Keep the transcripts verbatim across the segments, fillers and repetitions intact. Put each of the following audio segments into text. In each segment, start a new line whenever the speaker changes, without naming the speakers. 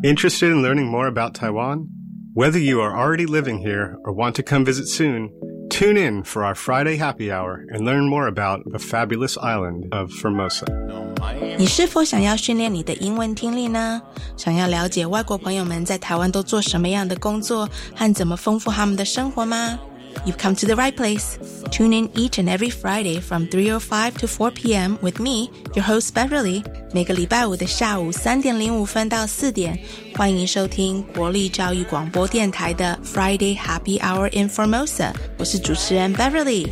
Interested in learning more about Taiwan? Whether you are already living here or want to come visit soon, tune in for our Friday happy hour and learn more about the fabulous island of Formosa.
你是否想要训练你的英文听力呢？想要了解外国朋友们在台湾都做什么样的工作和怎么丰富他们的生活吗？ You've come to the right place. Tune in each and every Friday from three oh five to four p.m. with me, your host Beverly. 每个礼拜五的下午三点零五分到四点，欢迎收听国立教育广播电台的 Friday Happy Hour in Formosa. 我是主持人 Beverly。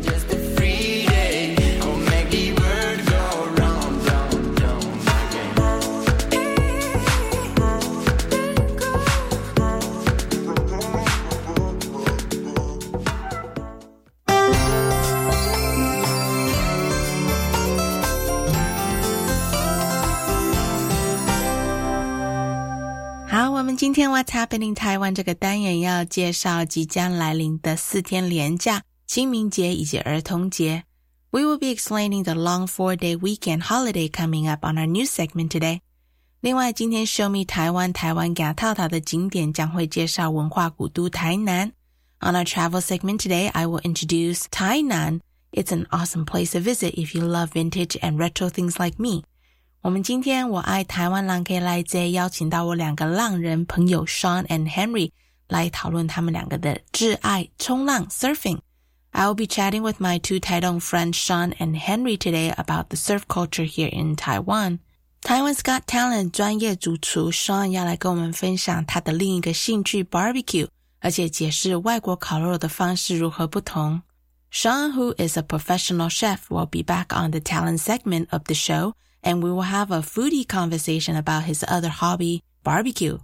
今天 What's Happening Taiwan 这个单元要介绍即将来临的四天连假，清明节以及儿童节。We will be explaining the long four-day weekend holiday coming up on our news segment today. 另外，今天 Show Me 台湾台湾给套套的景点将会介绍文化古都台南。On our travel segment today, I will introduce Tainan. It's an awesome place to visit if you love vintage and retro things like me.我们今天我爱台湾人可以来这邀请到我两个浪人朋友 Sean and Henry 来讨论他们两个的挚爱冲浪 surfing. I will be chatting with my two Taidong friends Sean and Henry today about the surf culture here in Taiwan. Taiwan's Got Talent 专业主厨 Sean 要来跟我们分享他的另一个兴趣 barbecue, 而且解释外国烤肉的方式如何不同。Sean, who is a professional chef, will be back on the talent segment of the show.And we will have a foodie conversation about his other hobby, barbecue.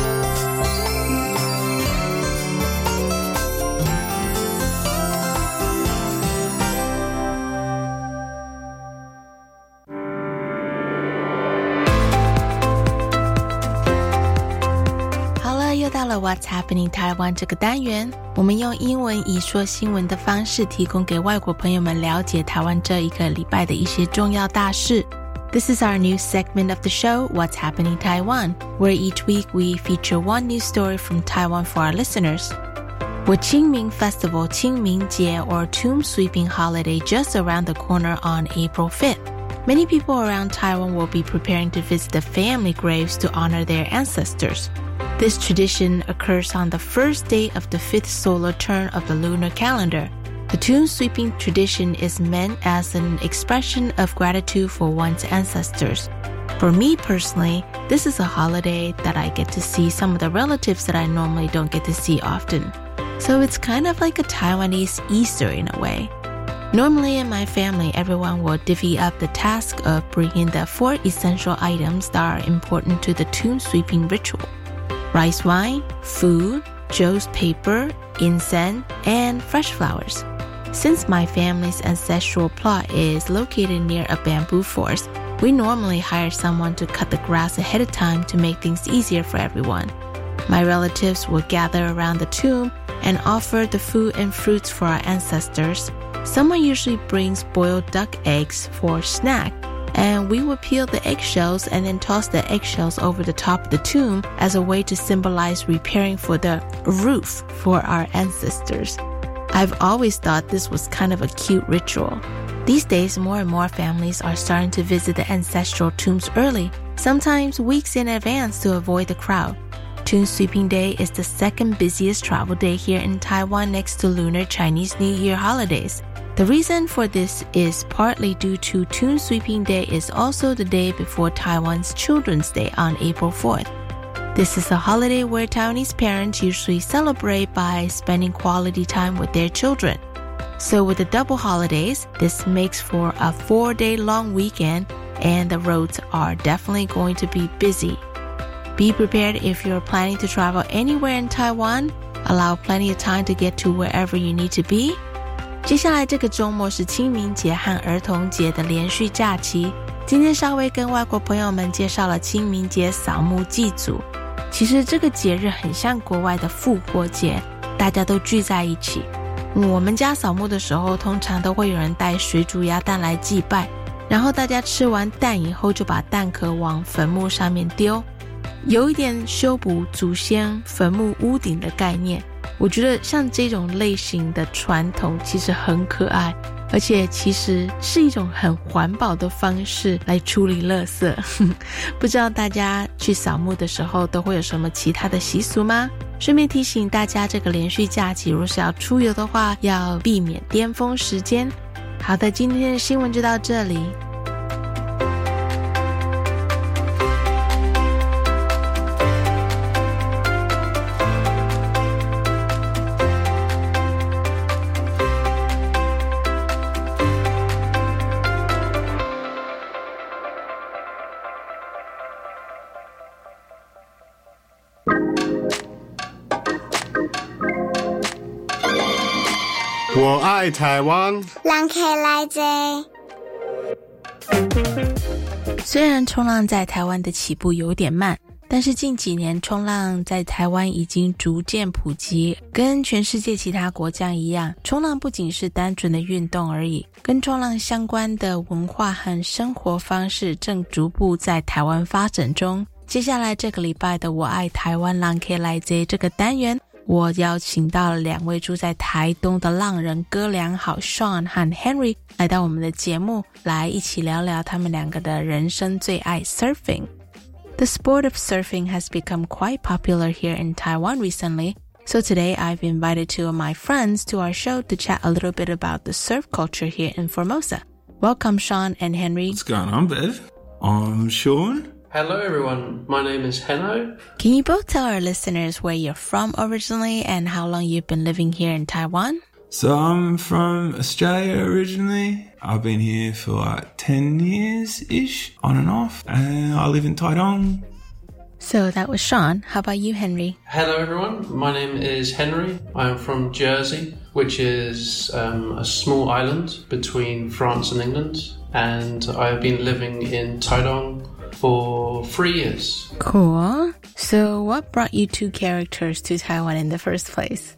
Hello, 又到了 What's Happening Taiwan 这个单元，我们用英文以说新闻的方式提供给外国朋友们了解台湾这一个礼拜的一些重要大事。This is our new segment of the show, What's Happening Taiwan, where each week we feature one news story from Taiwan for our listeners. With Qingming Festival, Qingming Jie, or Tomb Sweeping holiday just around the corner on April fifth, many people around Taiwan will be preparing to visit the family graves to honor their ancestors. This tradition occurs on the first day of the fifth solar turn of the lunar calendar.The tomb sweeping tradition is meant as an expression of gratitude for one's ancestors. For me personally, this is a holiday that I get to see some of the relatives that I normally don't get to see often. So it's kind of like a Taiwanese Easter in a way. Normally in my family, everyone will divvy up the task of bringing the four essential items that are important to the tomb sweeping ritual. Rice wine, food, Joe's paper, incense, and fresh flowers.Since my family's ancestral plot is located near a bamboo forest, we normally hire someone to cut the grass ahead of time to make things easier for everyone. My relatives will gather around the tomb and offer the food and fruits for our ancestors. Someone usually brings boiled duck eggs for a snack, and we will peel the eggshells and then toss the eggshells over the top of the tomb as a way to symbolize preparing for the roof for our ancestors.I've always thought this was kind of a cute ritual. These days, more and more families are starting to visit the ancestral tombs early, sometimes weeks in advance to avoid the crowd. Tomb Sweeping Day is the second busiest travel day here in Taiwan next to Lunar Chinese New Year holidays. The reason for this is partly due to Tomb Sweeping Day is also the day before Taiwan's Children's Day on April fourth.This is a holiday where Taiwanese parents usually celebrate by spending quality time with their children. So with the double holidays, this makes for a four-day long weekend, and the roads are definitely going to be busy. Be prepared if you're planning to travel anywhere in Taiwan. Allow plenty of time to get to wherever you need to be. 接下来这个周末是清明节和儿童节的连续假期。今天稍微跟外国朋友们介绍了清明节扫墓祭祖。其实这个节日很像国外的复活节，大家都聚在一起。我们家扫墓的时候，通常都会有人带水煮鸭蛋来祭拜，然后大家吃完蛋以后就把蛋壳往坟墓上面丢。 有一点修补祖先坟墓屋顶的概念。我觉得像这种类型的传统其实很可爱，而且其实是一种很环保的方式来处理垃圾。不知道大家去扫墓的时候都会有什么其他的习俗吗？顺便提醒大家，这个连续假期如果是要出游的话，要避免巅峰时间。好的，今天的新闻就到这里。
我爱台湾，
人客来坐。
虽然冲浪在台湾的起步有点慢，但是近几年冲浪在台湾已经逐渐普及。跟全世界其他国家一样，冲浪不仅是单纯的运动而已，跟冲浪相关的文化和生活方式正逐步在台湾发展中。接下来这个礼拜的我爱台湾人客来坐这个单元，我邀请到了两位住在台东的浪人哥俩好 Sean 和 Henry 来到我们的节目，来一起聊聊他们两个的人生最爱 surfing. The sport of surfing has become quite popular here in Taiwan recently, so today I've invited two of my friends to our show to chat a little bit about the surf culture here in Formosa. Welcome, Sean and Henry.
What's going on, Bev? I'm Sean.
Hello everyone, my name is Henno.
Can you both tell our listeners where you're from originally and how long you've been living here in Taiwan?
So I'm from Australia originally. I've been here for like ten years-ish, on and off. And I live in Taidong.
So that was Sean. How about you, Henry?
Hello everyone, my name is Henry. I am from Jersey, which is um, a small island between France and England. And I've been living in Taidong for three years.
Cool. So what brought you two characters to Taiwan in the first place?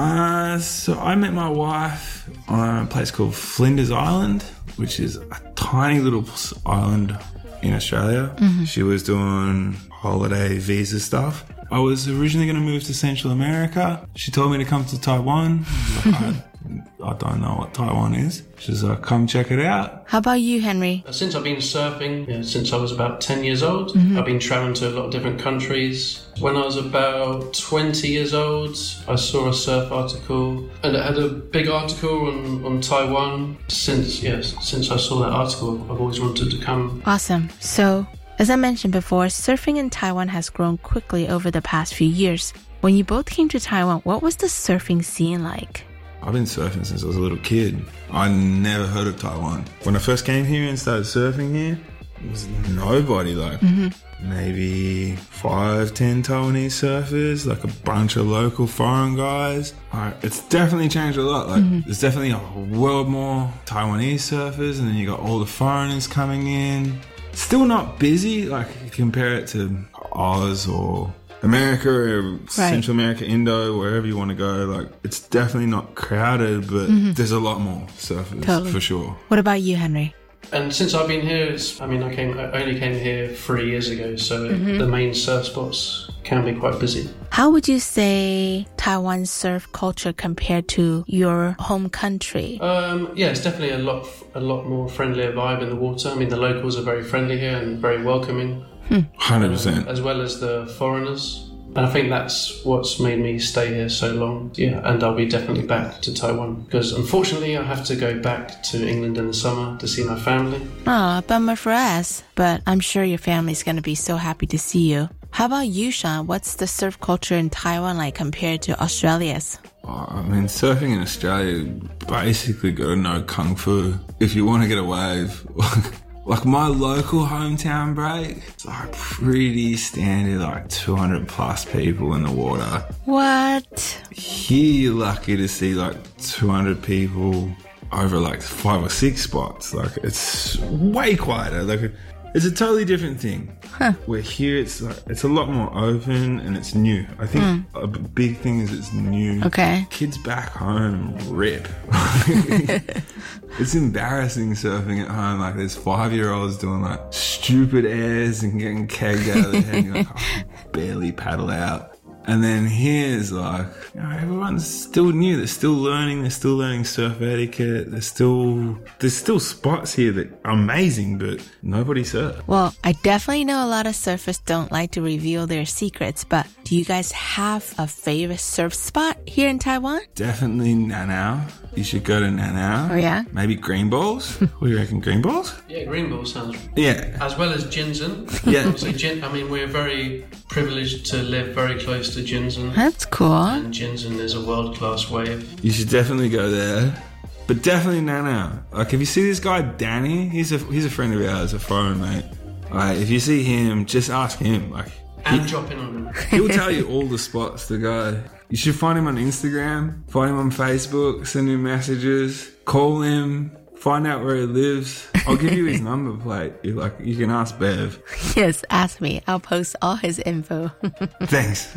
Uh, so I met my wife on a place called Flinders Island, which is a tiny little island in Australia. Mm-hmm. She was doing holiday visa stuff. I was originally going to move to Central America. She told me to come to Taiwan. I, I don't know what Taiwan is. She's like, come check it out.
How about you, Henry?
Since I've been surfing, you know, since I was about ten years old, mm-hmm. I've been traveling to a lot of different countries. When I was about twenty years old, I saw a surf article, and it had a big article on, on Taiwan. Since, yes, since I saw that article, I've always wanted to come.
Awesome. So, as I mentioned before, surfing in Taiwan has grown quickly over the past few years. When you both came to Taiwan, what was the surfing scene like?
I've been surfing since I was a little kid. I never heard of Taiwan. When I first came here and started surfing here, there was nobody, like mm-hmm. maybe five, ten Taiwanese surfers, like a bunch of local foreign guys. Like, it's definitely changed a lot. Like mm-hmm. there's definitely a world more Taiwanese surfers, and then you got all the foreigners coming in. Still not busy, like you compare it to Oz or America or right. Central America, Indo, wherever you want to go. Like, it's definitely not crowded, but mm-hmm. there's a lot more surfers totally. For sure.
What about you, Henry?
And since I've been here, it's, I mean, I came, I only came here three years ago, so mm-hmm. the main surf spots can be quite busy.
How would you say Taiwan's surf culture compared to your home country?
Um, yeah, it's definitely a lot, a lot more friendlier vibe in the water. I mean, the locals are very friendly here and very welcoming.
one hundred percent.
Uh, as well as the foreigners. And I think that's what's made me stay here so long. Yeah, and I'll be definitely back to Taiwan because unfortunately I have to go back to England in the summer to see my family.
Ah, bummer for us. But I'm sure your family's going to be so happy to see you. How about you, Sean? What's the surf culture in Taiwan like compared to Australia's?
Oh, I mean, surfing in Australia, basically got to know Kung Fu. If you want to get a wave... Like my local hometown break, it's like pretty standard, like two hundred plus people in the water.
What?
Here you're lucky to see like two hundred people over like five or six spots. Like it's way quieter. Like it's a totally different thing.
Huh.
Where here it's like, it's a lot more open and it's new. I think mm. a big thing is it's new.
Okay.
Kids back home rip. It's embarrassing surfing at home. Like there's five-year-olds doing like stupid airs and getting kegged out of the head. And you're like, oh, barely paddle out. And then here's like, you know, everyone's still new. They're still learning. They're still learning surf etiquette. There's still, there's still spots here that are amazing, but nobody surfs.
Well, I definitely know a lot of surfers don't like to reveal their secrets, but do you guys have a favorite surf spot here in Taiwan?
Definitely Nanao. You should go to Nanao.
Oh, yeah?
Maybe Green Balls. What do you reckon, Green Balls?
Yeah, Green Balls sounds...
Yeah.
As well as Jinzhen.
Yeah.
Obviously, Jin, I mean, we're very privileged to live very close to Jinzhen.
That's cool.
And Jinzhen is a world-class wave.
You should definitely go there. But definitely Nanao. Like, if you see this guy, Danny, he's a he's a friend of ours, a foreign mate. Like, if you see him, just ask him. Like,
And
he,
drop in on him.
He'll tell you all the spots to go. You should find him on Instagram, find him on Facebook, send him messages, call him, find out where he lives. I'll give you his number plate. You like, you can ask Bev.
Yes, ask me. I'll post all his info.
Thanks.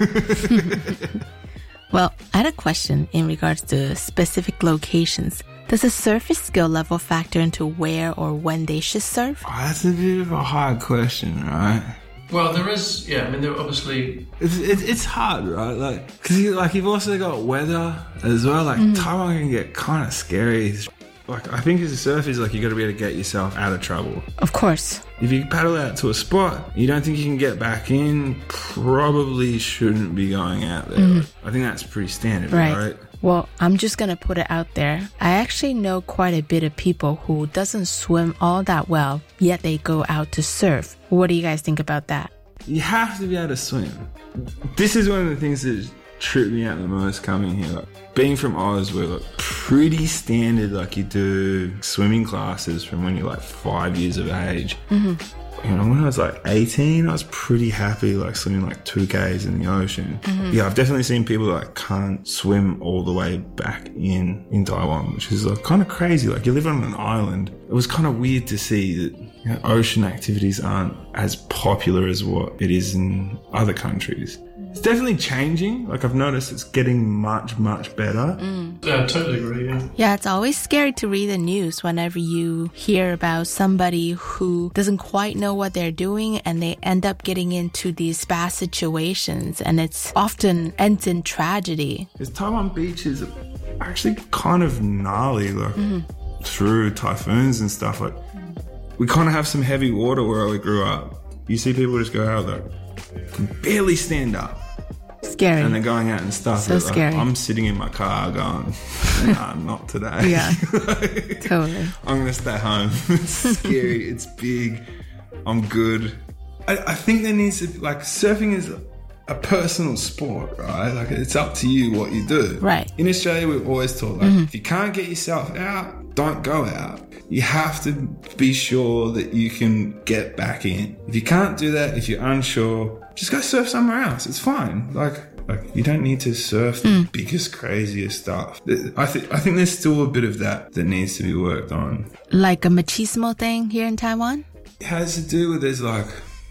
Well, I had a question in regards to specific locations. Does a surfer skill level factor into where or when they should surf?
Oh, that's a bit of a hard question, right?
Well, there is, yeah, I mean, there are obviously...
It's, it, it's hard, right? Like, because you, like, you've also got weather as well. Like, mm. Taiwan can get kind of scary. Like, I think as a surfer, like, you got to be able to get yourself out of trouble.
Of course.
If you paddle out to a spot, you don't think you can get back in, probably shouldn't be going out there. Mm. I think that's pretty standard, right? right?
Well, I'm just going to put it out there. I actually know quite a bit of people who doesn't swim all that well, yet they go out to surf. What do you guys think about that?
You have to be able to swim. This is one of the things that tripped me out the most coming here. Like, being from Oz, we're like pretty standard, like you do swimming classes from when you're like five years of age. Mm-hmm. You know, when I was like eighteen, I was pretty happy like swimming like two Ks in the ocean. Mm-hmm. Yeah, I've definitely seen people that like can't swim all the way back in in Taiwan, which is like kind of crazy. Like you live on an island. It was kind of weird to see that, you know, ocean activities aren't as popular as what it is in other countries. It's definitely changing. Like I've noticed it's getting much, much better.
Mm. Yeah, I totally agree, yeah.
Yeah, it's always scary to read the news whenever you hear about somebody who doesn't quite know what they're doing and they end up getting into these bad situations, and it's often ends in tragedy.
Because Taiwan beaches are actually kind of gnarly, like mm-hmm. through typhoons and stuff. Like we kind of have some heavy water where I grew up. You see people just go out there, can barely stand up.
Scary.
And they're going out and stuff.
So scary.
Like, I'm sitting in my car going, nah, not today.
Yeah, like, totally.
I'm going to stay home. It's scary. It's big. I'm good. I, I think there needs to be, like, surfing is a personal sport, right? Like, it's up to you what you do.
Right.
In Australia, we've always taught, like, mm-hmm. if you can't get yourself out, don't go out. You have to be sure that you can get back in. If you can't do that, if you're unsure, just go surf somewhere else. It's fine. Like, like you don't need to surf the mm. biggest, craziest stuff. I think I think there's still a bit of that that needs to be worked on.
Like a machismo thing here in Taiwan?
It has to do with there's like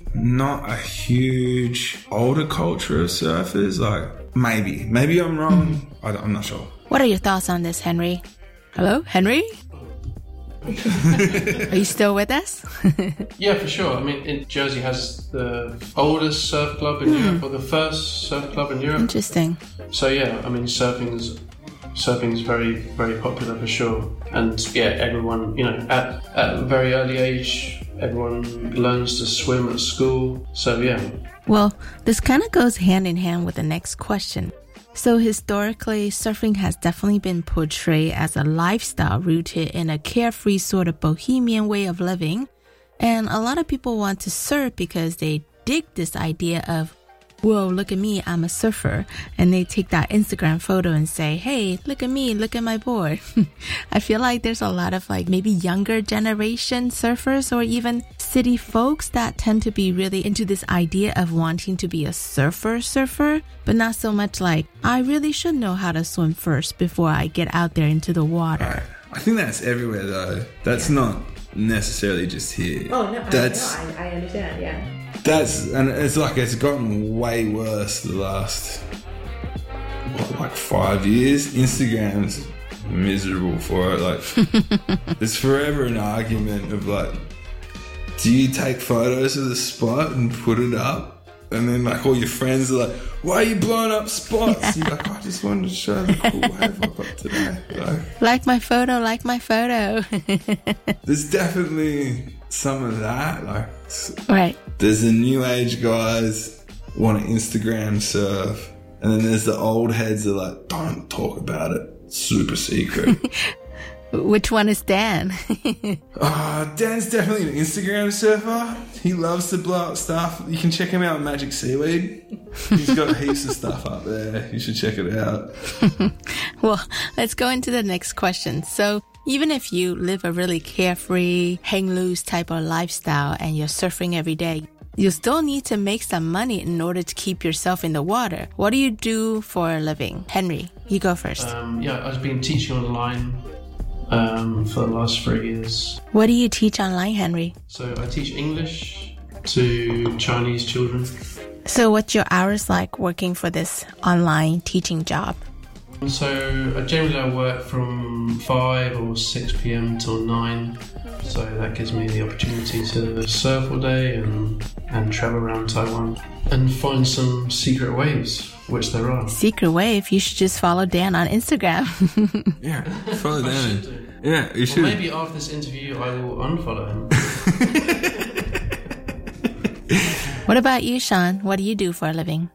not a huge older culture of surfers. Like maybe, maybe I'm wrong. Mm. I I'm not sure.
What are your thoughts on this, Henry? Hello, Henry? Are you still with us?
Yeah, for sure. I mean, it, Jersey has the oldest surf club in mm. Europe, or the first surf club in Europe.
Interesting.
So yeah, I mean, surfing's surfing's very, very popular for sure. And yeah, everyone, you know, at at a very early age, everyone learns to swim at school. So yeah.
Well, this kind of goes hand in hand with the next question. So historically, surfing has definitely been portrayed as a lifestyle rooted in a carefree sort of bohemian way of living. And a lot of people want to surf because they dig this idea of, whoa, look at me, I'm a surfer. And they take that Instagram photo and say, hey, look at me, look at my board. I feel like there's a lot of like maybe younger generation surfers or even city folks that tend to be really into this idea of wanting to be a surfer surfer, but not so much like, I really should know how to swim first before I get out there into the water.
I think that's everywhere though. That's yeah. not necessarily just here.
Oh, no,
that's,
I, no, I, I understand, yeah.
That's, and it's like it's gotten way worse the last, what, like five years. Instagram's miserable for it. Like, there's forever an argument of like, do you take photos of the spot and put it up? And then, like, all your friends are like, why are you blowing up spots? You're like, I just wanted to show the cool wave I got today. Like,
like my photo, like my photo.
There's definitely some of that. Like,
right.
There's the new age guys want to Instagram surf. And then there's the old heads that are like, don't talk about it. Super secret.
Which one is Dan?
uh, Dan's definitely an Instagram surfer. He loves to blow up stuff. You can check him out on Magic Seaweed. He's got heaps of stuff up there. You should check it out.
Well, let's go into the next question. So, even if you live a really carefree, hang loose type of lifestyle and you're surfing every day, you still need to make some money in order to keep yourself in the water. What do you do for a living? Henry, you go first.
Um, yeah, I've been teaching online um, for the last three years.
What do you teach online, Henry?
So I teach English to Chinese children.
So what's your hours like working for this online teaching job?
So uh, generally I work from five or six p.m. till nine. So that gives me the opportunity to surf all day and, and travel around Taiwan and find some secret waves, which there are.
Secret wave? You should just follow Dan on Instagram.
Yeah, follow
I
Dan.
should do.
Yeah, you
Or
should.
maybe after this interview I will unfollow him.
What about you, Sean? What do you do for a living?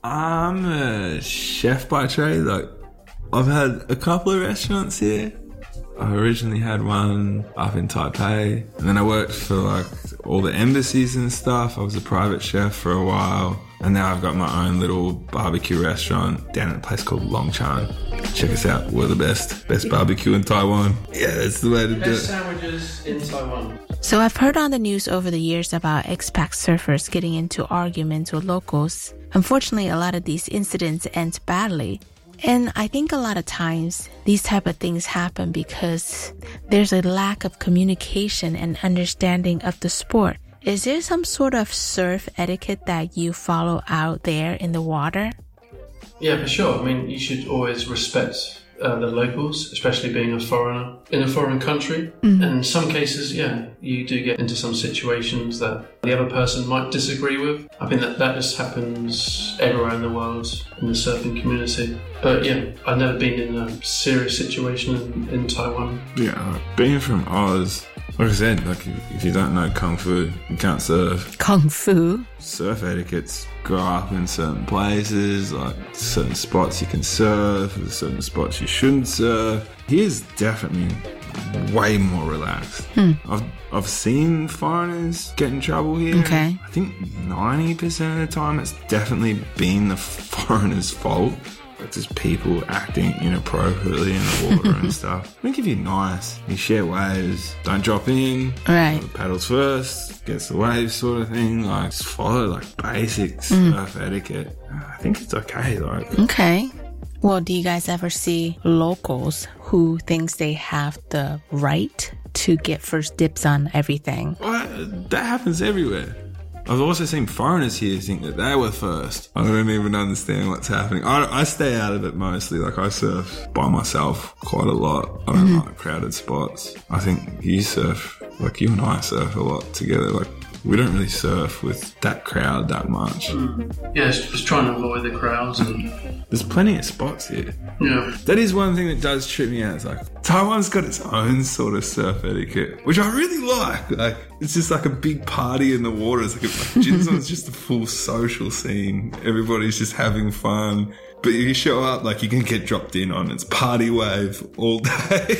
I'm a chef by trade. Like, I've had a couple of restaurants here. I originally had one up in Taipei, and then I worked for like all the embassies and stuff. I was a private chef for a while, and now I've got my own little barbecue restaurant down at a place called Longchan. Check us out. We're the best. Best barbecue in Taiwan. Yeah, that's the way to do it.
Best sandwiches in Taiwan.
So I've heard on the news over the years about expat surfers getting into arguments with locals. Unfortunately, a lot of these incidents end badly. And I think a lot of times these type of things happen because there's a lack of communication and understanding of the sport. Is there some sort of surf etiquette that you follow out there in the water?
Yeah, for sure. I mean, you should always respect uh, the locals, especially being a foreigner in a foreign country. Mm-hmm. And in some cases, yeah, you do get into some situations that the other person might disagree with. I think that that just happens everywhere in the world in the surfing community. But yeah, I've never been in a serious situation in, in Taiwan.
Yeah, being from Oz, like I said, like if, if you don't know Kung Fu, you can't surf.
Kung Fu?
Surf etiquettes grow up in certain places, like certain spots you can surf, there's certain spots you shouldn't surf. Here's definitely way more relaxed. Hmm. I've I've seen foreigners get in trouble here.
Okay.
I think ninety percent of the time it's definitely been the foreigner's fault. Like just people acting inappropriately in the water and stuff. I think if you're nice, you share waves, don't drop in,
right?
Paddles first, gets the waves sort of thing. Like just follow like basic mm. surf etiquette. I think it's okay. Like
okay. Well, do you guys ever see locals who thinks they have the right to get first dibs on everything?
Well, that happens everywhere. I've also seen foreigners here think that they were first. I don't even understand what's happening. I, I stay out of it mostly. Like I surf by myself quite a lot. I don't mm-hmm. like crowded spots. I think you surf, like you and I surf a lot together. Like we don't really surf with that crowd that much.
Mm. Yeah, it's just trying to avoid the crowds. And
there's plenty of spots here.
Yeah.
That is one thing that does trip me out. It's like Taiwan's got its own sort of surf etiquette, which I really like. Like it's just like a big party in the water. It's like, like Jinzon's just a full social scene. Everybody's just having fun. But if you show up, like, you can get dropped in on. It's party wave all day.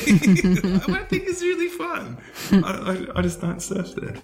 I think it's really fun. I, I, I just don't surf there.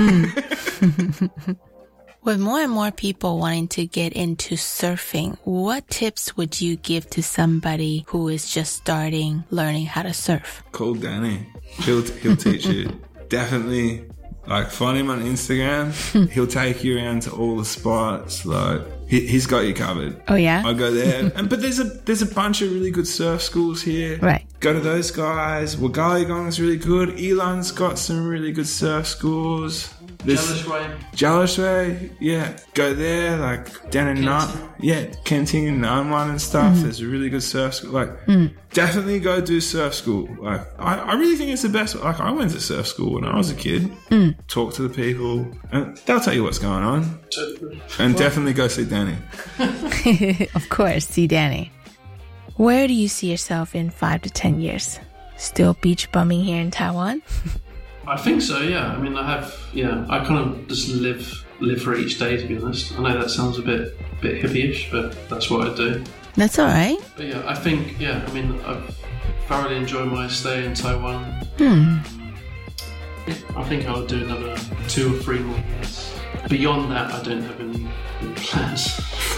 With more and more people wanting to get into surfing, what tips would you give to somebody who is just starting learning how to surf?
Call Danny. He'll, he'll teach you. Definitely. Like, find him on Instagram. He'll take you around to all the spots. Like, he, he's got you covered.
Oh, yeah?
I go there. and But there's a there's a bunch of really good surf schools here.
Right. Go
to those guys. Wugaligong's really good. Elon's got some really good surf schools.
Jealous Way.
Jealous Way, yeah. Go there, like down in Nut, yeah, Kenting and Nanwan and stuff. Mm. There's a really good surf school. Like, mm. definitely go do surf school. Like, I, I really think it's the best. Like, I went to surf school when I was a kid. Mm. Talk to the people, and they'll tell you what's going on. And well, definitely go see Danny.
Of course, see Danny. Where do you see yourself in five to ten years? Still beach bumming here in Taiwan?
I think so, yeah. I mean, I have, yeah, I kind of just live live for each day, to be honest. I know that sounds a bit bit hippie-ish, but that's what I do.
That's all right.
But yeah, I think, yeah, I mean, I've thoroughly enjoyed my stay in Taiwan.
Hmm.
I think I'll do another two or three more years. Beyond that, I don't have any, any plans.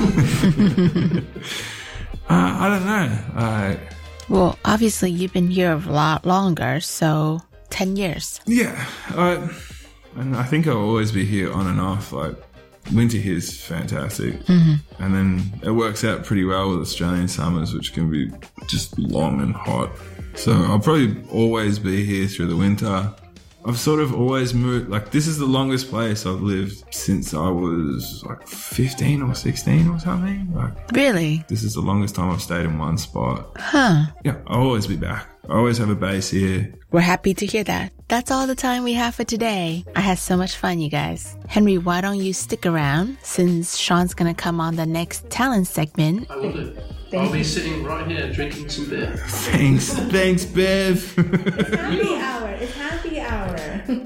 uh, I don't know. Uh,
well, obviously, you've been here a lot longer, so... ten years.
Yeah. I, and I think I'll always be here on and off. Like, winter here is fantastic. Mm-hmm. And then it works out pretty well with Australian summers, which can be just long and hot. So I'll probably always be here through the winter. I've sort of always moved, like, this is the longest place I've lived since I was like fifteen or sixteen or something. Like,
really?
This is the longest time I've stayed in one spot.
Huh.
Yeah, I'll always be back. I always have a base here.
We're happy to hear that. That's all the time we have for today. I had so much fun, you guys. Henry, why don't you stick around since Sean's going to come on the next talent segment.
I will do. I'll be sitting right here drinking some beer.
Thanks. Thanks, Bev.
It's happy hour. It's happy hour.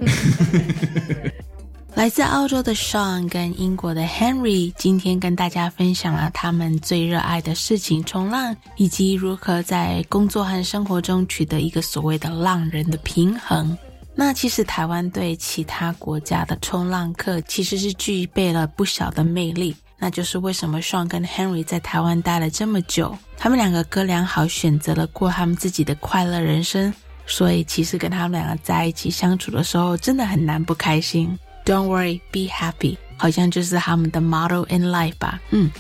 来自澳洲的 Sean 跟英国的 Henry 今天跟大家分享了他们最热爱的事情冲浪，以及如何在工作和生活中取得一个所谓的浪人的平衡。那其实台湾对其他国家的冲浪客其实是具备了不小的魅力，那就是为什么 Sean 跟 Henry 在台湾待了这么久，他们两个哥俩好选择了过他们自己的快乐人生，所以其实跟他们两个在一起相处的时候真的很难不开心。Don't worry, be happy 好像就是他们的 motto in life 吧。嗯。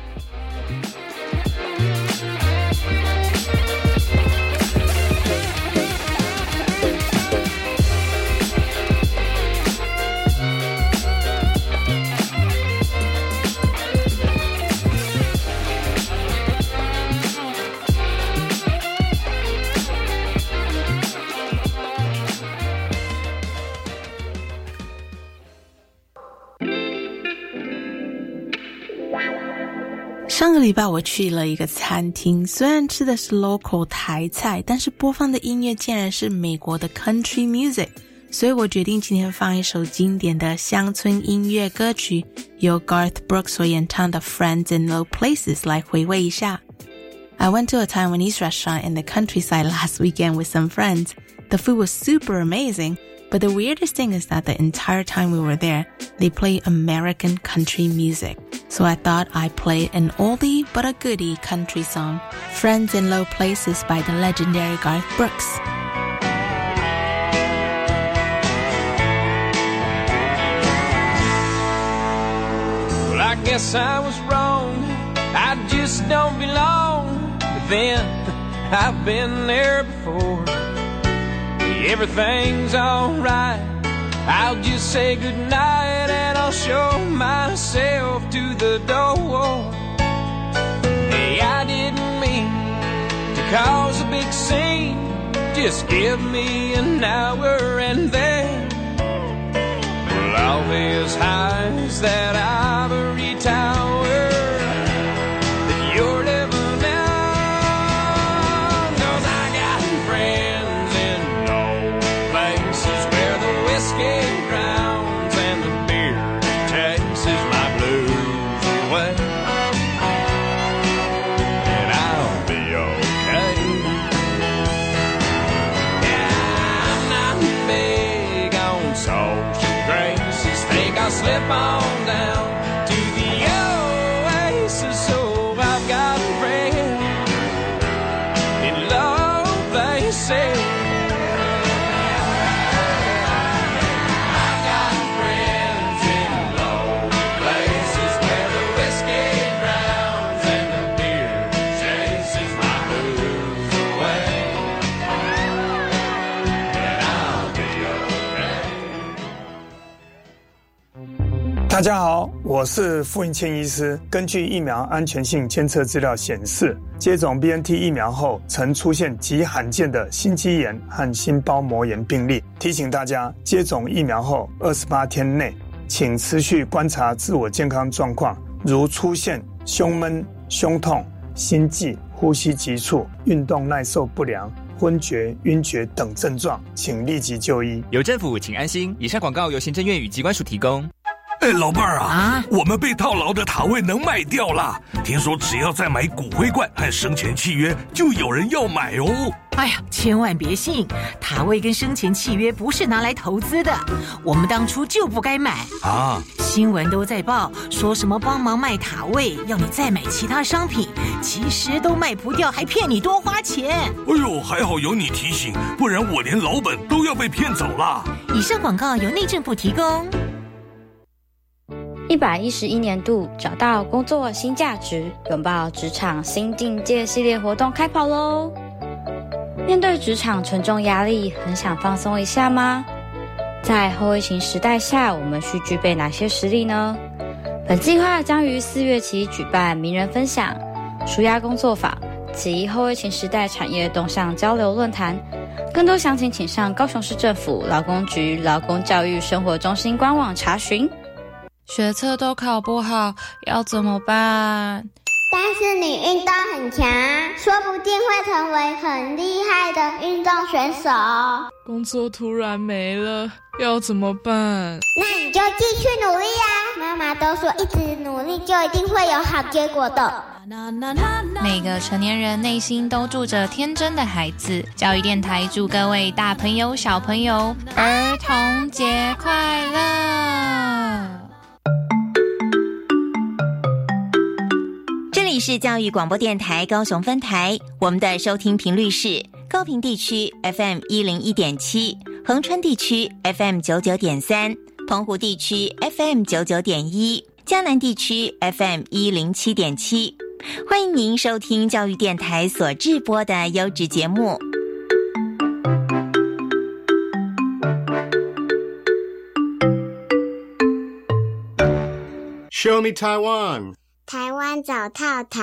上个礼拜我去了一个餐厅，虽然吃的是 local 台菜，但是播放的音乐竟然是美国的 country music， 所以我决定今天放一首经典的乡村音乐歌曲，由 Garth Brooks 所演唱的 Friends in Low Places 来回味一下。I went to a Taiwanese restaurant in the countryside last weekend with some friends. The food was super amazing, but the weirdest thing is that the entire time we were there, they played American country music. So I thought I'd play an oldie but a goodie country song, Friends in Low Places by the legendary Garth Brooks.
Well, I guess I was wrong. I just don't belong. But then I've been there before. Everything's alright. I'll just say goodnight and I'll show myself to the door. Hey, I didn't mean to cause a big scene. Just give me an hour and then well, I'll be as high as that ivory tower that you're living on. 'Cause I got friends in low places where the whiskey drowns and the beer chases my blues away. And I'll be okay. Yeah, I'm not big on social graces. Think I'll slip on down to the oasis. So I've got a friend in low places.
大家好，我是傅云谦医师。根据疫苗安全性监测资料显示，接种 B N T 疫苗后曾出现极罕见的心肌炎和心包膜炎病例。提醒大家，接种疫苗后二十八天内，请持续观察自我健康状况，如出现胸闷、胸痛、心悸、呼吸急促、运动耐受不良、昏厥、晕厥等症状，请立即就医。
有政府，请安心。以上广告由行政院与疾管署提供。
哎，老伴儿啊，啊我们被套牢的塔位能卖掉了。听说只要再买骨灰罐和生前契约，就有人要买哦。
哎呀，千万别信，塔位跟生前契约不是拿来投资的，我们当初就不该买
啊！
新闻都在报，说什么帮忙卖塔位，要你再买其他商品，其实都卖不掉，还骗你多花钱。
哎呦，还好有你提醒，不然我连老本都要被骗走了。
以上广告由内政部提供。
一百一十一年度找到工作新价值，拥抱职场新境界系列活动开跑咯！面对职场沉重压力，很想放松一下吗？在后疫情时代下，我们需具备哪些实力呢？本计划将于四月起举办名人分享、纾压工作坊及后疫情时代产业动向交流论坛。更多详情请上高雄市政府劳工局劳工教育生活中心官网查询。
学测都考不好，要怎么办？
但是你运动很强，说不定会成为很厉害的运动选手。
工作突然没了，要怎么办？
那你就继续努力啊！妈妈都说一直努力就一定会有好结果的。
每个成年人内心都住着天真的孩子。教育电台祝各位大朋友小朋友儿童节快乐！
这里是教育广播电台高雄分台，我们的收听频率是高屏地区 F M 一零一点七， 恒春地区 F M 九九点三， 澎湖地区 F M 九九点一， 嘉南地区 F M 一零七点七。欢迎您收听教育电台所制播的优质节目。
Show me Taiwan。
台湾找套套。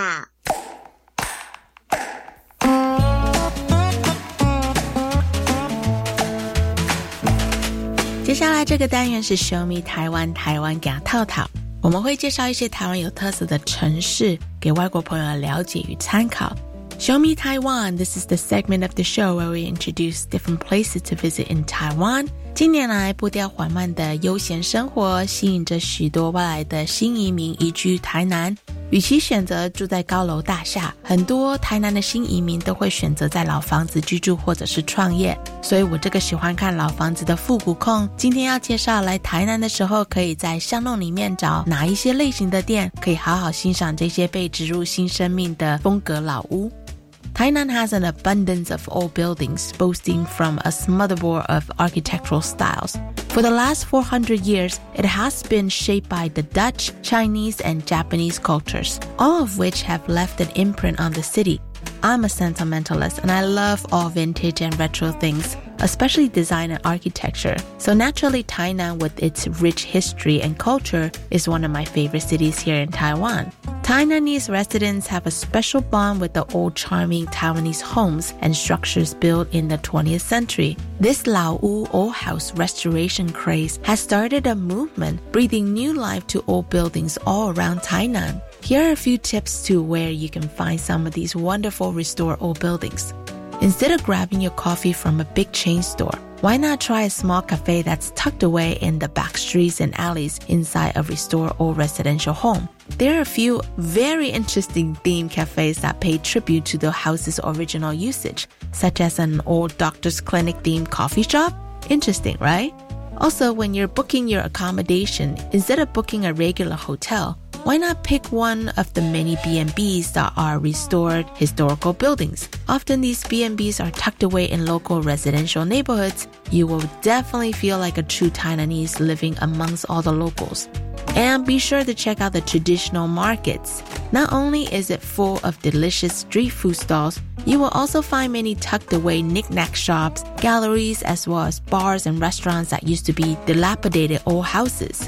接下来这个单元是 Show me 台湾，台湾给套套。我们会介绍一些台湾有特色的城市，给外国朋友了解与参考。Show me Taiwan. This is the segment of the show where we introduce different places to visit in Taiwan. 近年来步调缓慢的悠闲生活吸引着许多外来的新移民移居台南。与其选择住在高楼大厦，很多台南的新移民都会选择在老房子居住或者是创业。所以我这个喜欢看老房子的复古控，今天要介绍来台南的时候可以在巷弄里面找哪一些类型的店，可以好好欣赏这些被植入新生命的风格老屋。Tainan has an abundance of old buildings, boasting from a smorgasbord of architectural styles. For the last four hundred years, it has been shaped by the Dutch, Chinese, and Japanese cultures, all of which have left an imprint on the city. I'm a sentimentalist and I love all vintage and retro things, especially design and architecture. So naturally, Tainan, with its rich history and culture, is one of my favorite cities here in Taiwan. Tainanese residents have a special bond with the old charming Taiwanese homes and structures built in the twentieth century. This Laowu old house restoration craze has started a movement, breathing new life to old buildings all around Tainan. Here are a few tips to where you can find some of these wonderful restored old buildings. Instead of grabbing your coffee from a big chain store, why not try a small cafe that's tucked away in the back streets and alleys inside a restored old residential home? There are a few very interesting themed cafes that pay tribute to the house's original usage, such as an old doctor's clinic themed coffee shop. Interesting, right? Also, when you're booking your accommodation, instead of booking a regular hotel, why not pick one of the many B and B's that are restored historical buildings? Often these B and B's are tucked away in local residential neighborhoods. You will definitely feel like a true Taiwanese living amongst all the locals. And be sure to check out the traditional markets. Not only is it full of delicious street food stalls, you will also find many tucked away knick-knack shops, galleries, as well as bars and restaurants that used to be dilapidated old houses.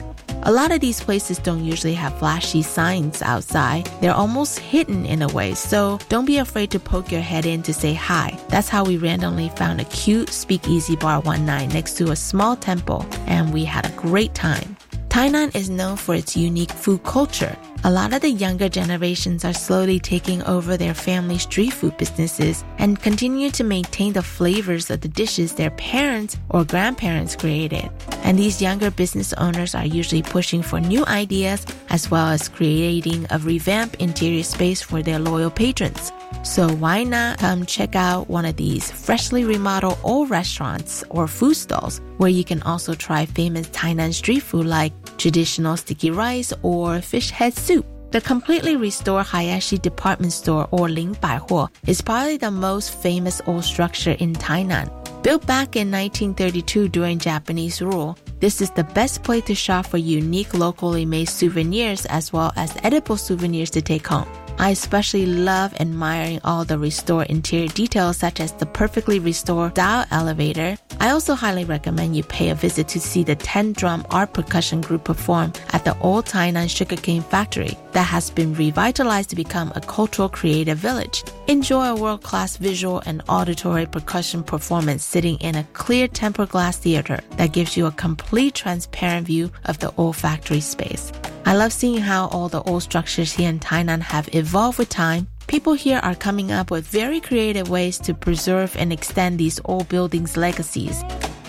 A lot of these places don't usually have flashy signs outside. They're almost hidden in a way, so don't be afraid to poke your head in to say hi. That's how we randomly found a cute speakeasy bar one night next to a small temple, and we had a great time. Tainan is known for its unique food culture. A lot of the younger generations are slowly taking over their family street food businesses and continue to maintain the flavors of the dishes their parents or grandparents created. And these younger business owners are usually pushing for new ideas as well as creating a revamped interior space for their loyal patrons. So why not come check out one of these freshly remodeled old restaurants or food stalls where you can also try famous Tainan street food like traditional sticky rice or fish head soup. The completely restored Hayashi department store or Ling Baihuo is probably the most famous old structure in Tainan. Built back in nineteen thirty-two during Japanese rule, this is the best place to shop for unique locally made souvenirs as well as edible souvenirs to take home. I especially love admiring all the restored interior details such as the perfectly restored dial elevator. I also highly recommend you pay a visit to see the ten-drum art percussion group perform at the old Tainan sugarcane factory that has been revitalized to become a cultural creative village. Enjoy a world-class visual and auditory percussion performance sitting in a clear tempered glass theater that gives you a complete transparent view of the old factory space. I love seeing how all the old structures here in Tainan have evolved with time. People here are coming up with very creative ways to preserve and extend these old buildings' legacies.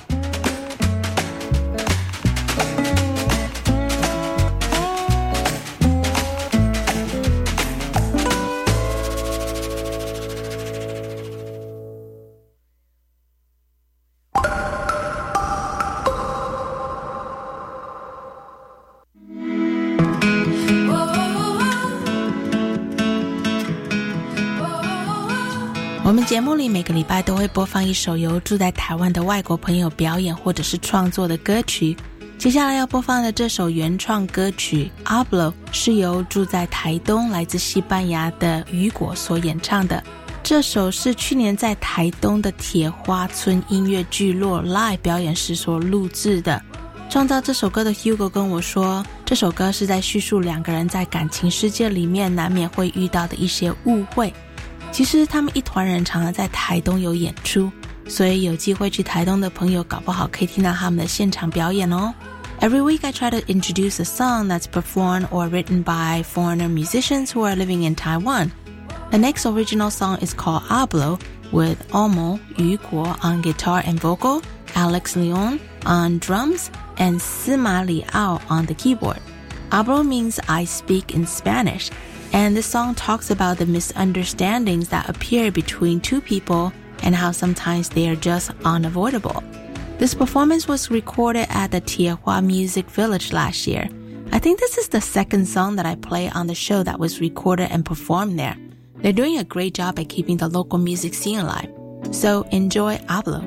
我们节目里每个礼拜都会播放一首由住在台湾的外国朋友表演或者是创作的歌曲。接下来要播放的这首原创歌曲 Hablo 是由住在台东来自西班牙的雨果所演唱的。这首是去年在台东的铁花村音乐聚落 live 表演时所录制的。创造这首歌的 Hugo 跟我说，这首歌是在叙述两个人在感情世界里面难免会遇到的一些误会。其实他们一团人常常在台东有演出，所以有机会去台东的朋友搞不好可以听到他们的现场表演哦。Every week I try to introduce a song that's performed or written by foreigner musicians who are living in Taiwan. The next original song is called Hablo with Omo Yu Guo on guitar and vocal, Alex Leon on drums, and Sima Liao on the keyboard. Hablo means I speak in Spanish. And this song talks about the misunderstandings that appear between two people and how sometimes they are just unavoidable. This performance was recorded at the Tiehua Music Village last year. I think this is the second song that I play on the show that was recorded and performed there. They're doing a great job at keeping the local music scene alive. So enjoy Hablo.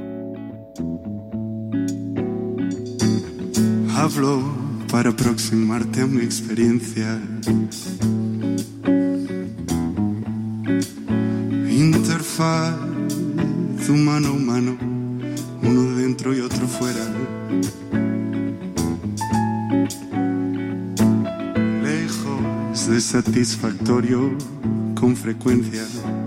Hablo para aproximarte a mi experiencia. Interfaz humano a humano, uno dentro y otro fuera. Lejos de satisfactorio con frecuencia.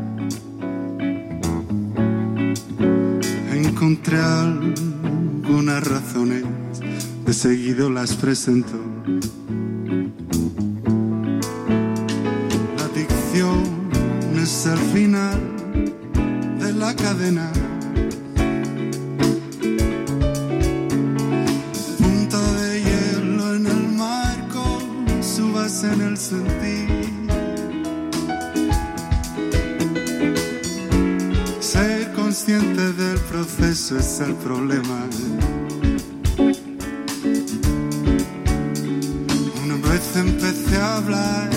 Encontré algunas razones, de seguido las presento. La adicción es el final de la cadena. Punta de hielo en el marco, subas en el sentir. Ser consciente del proceso es el problema. Una vez empecé a hablar,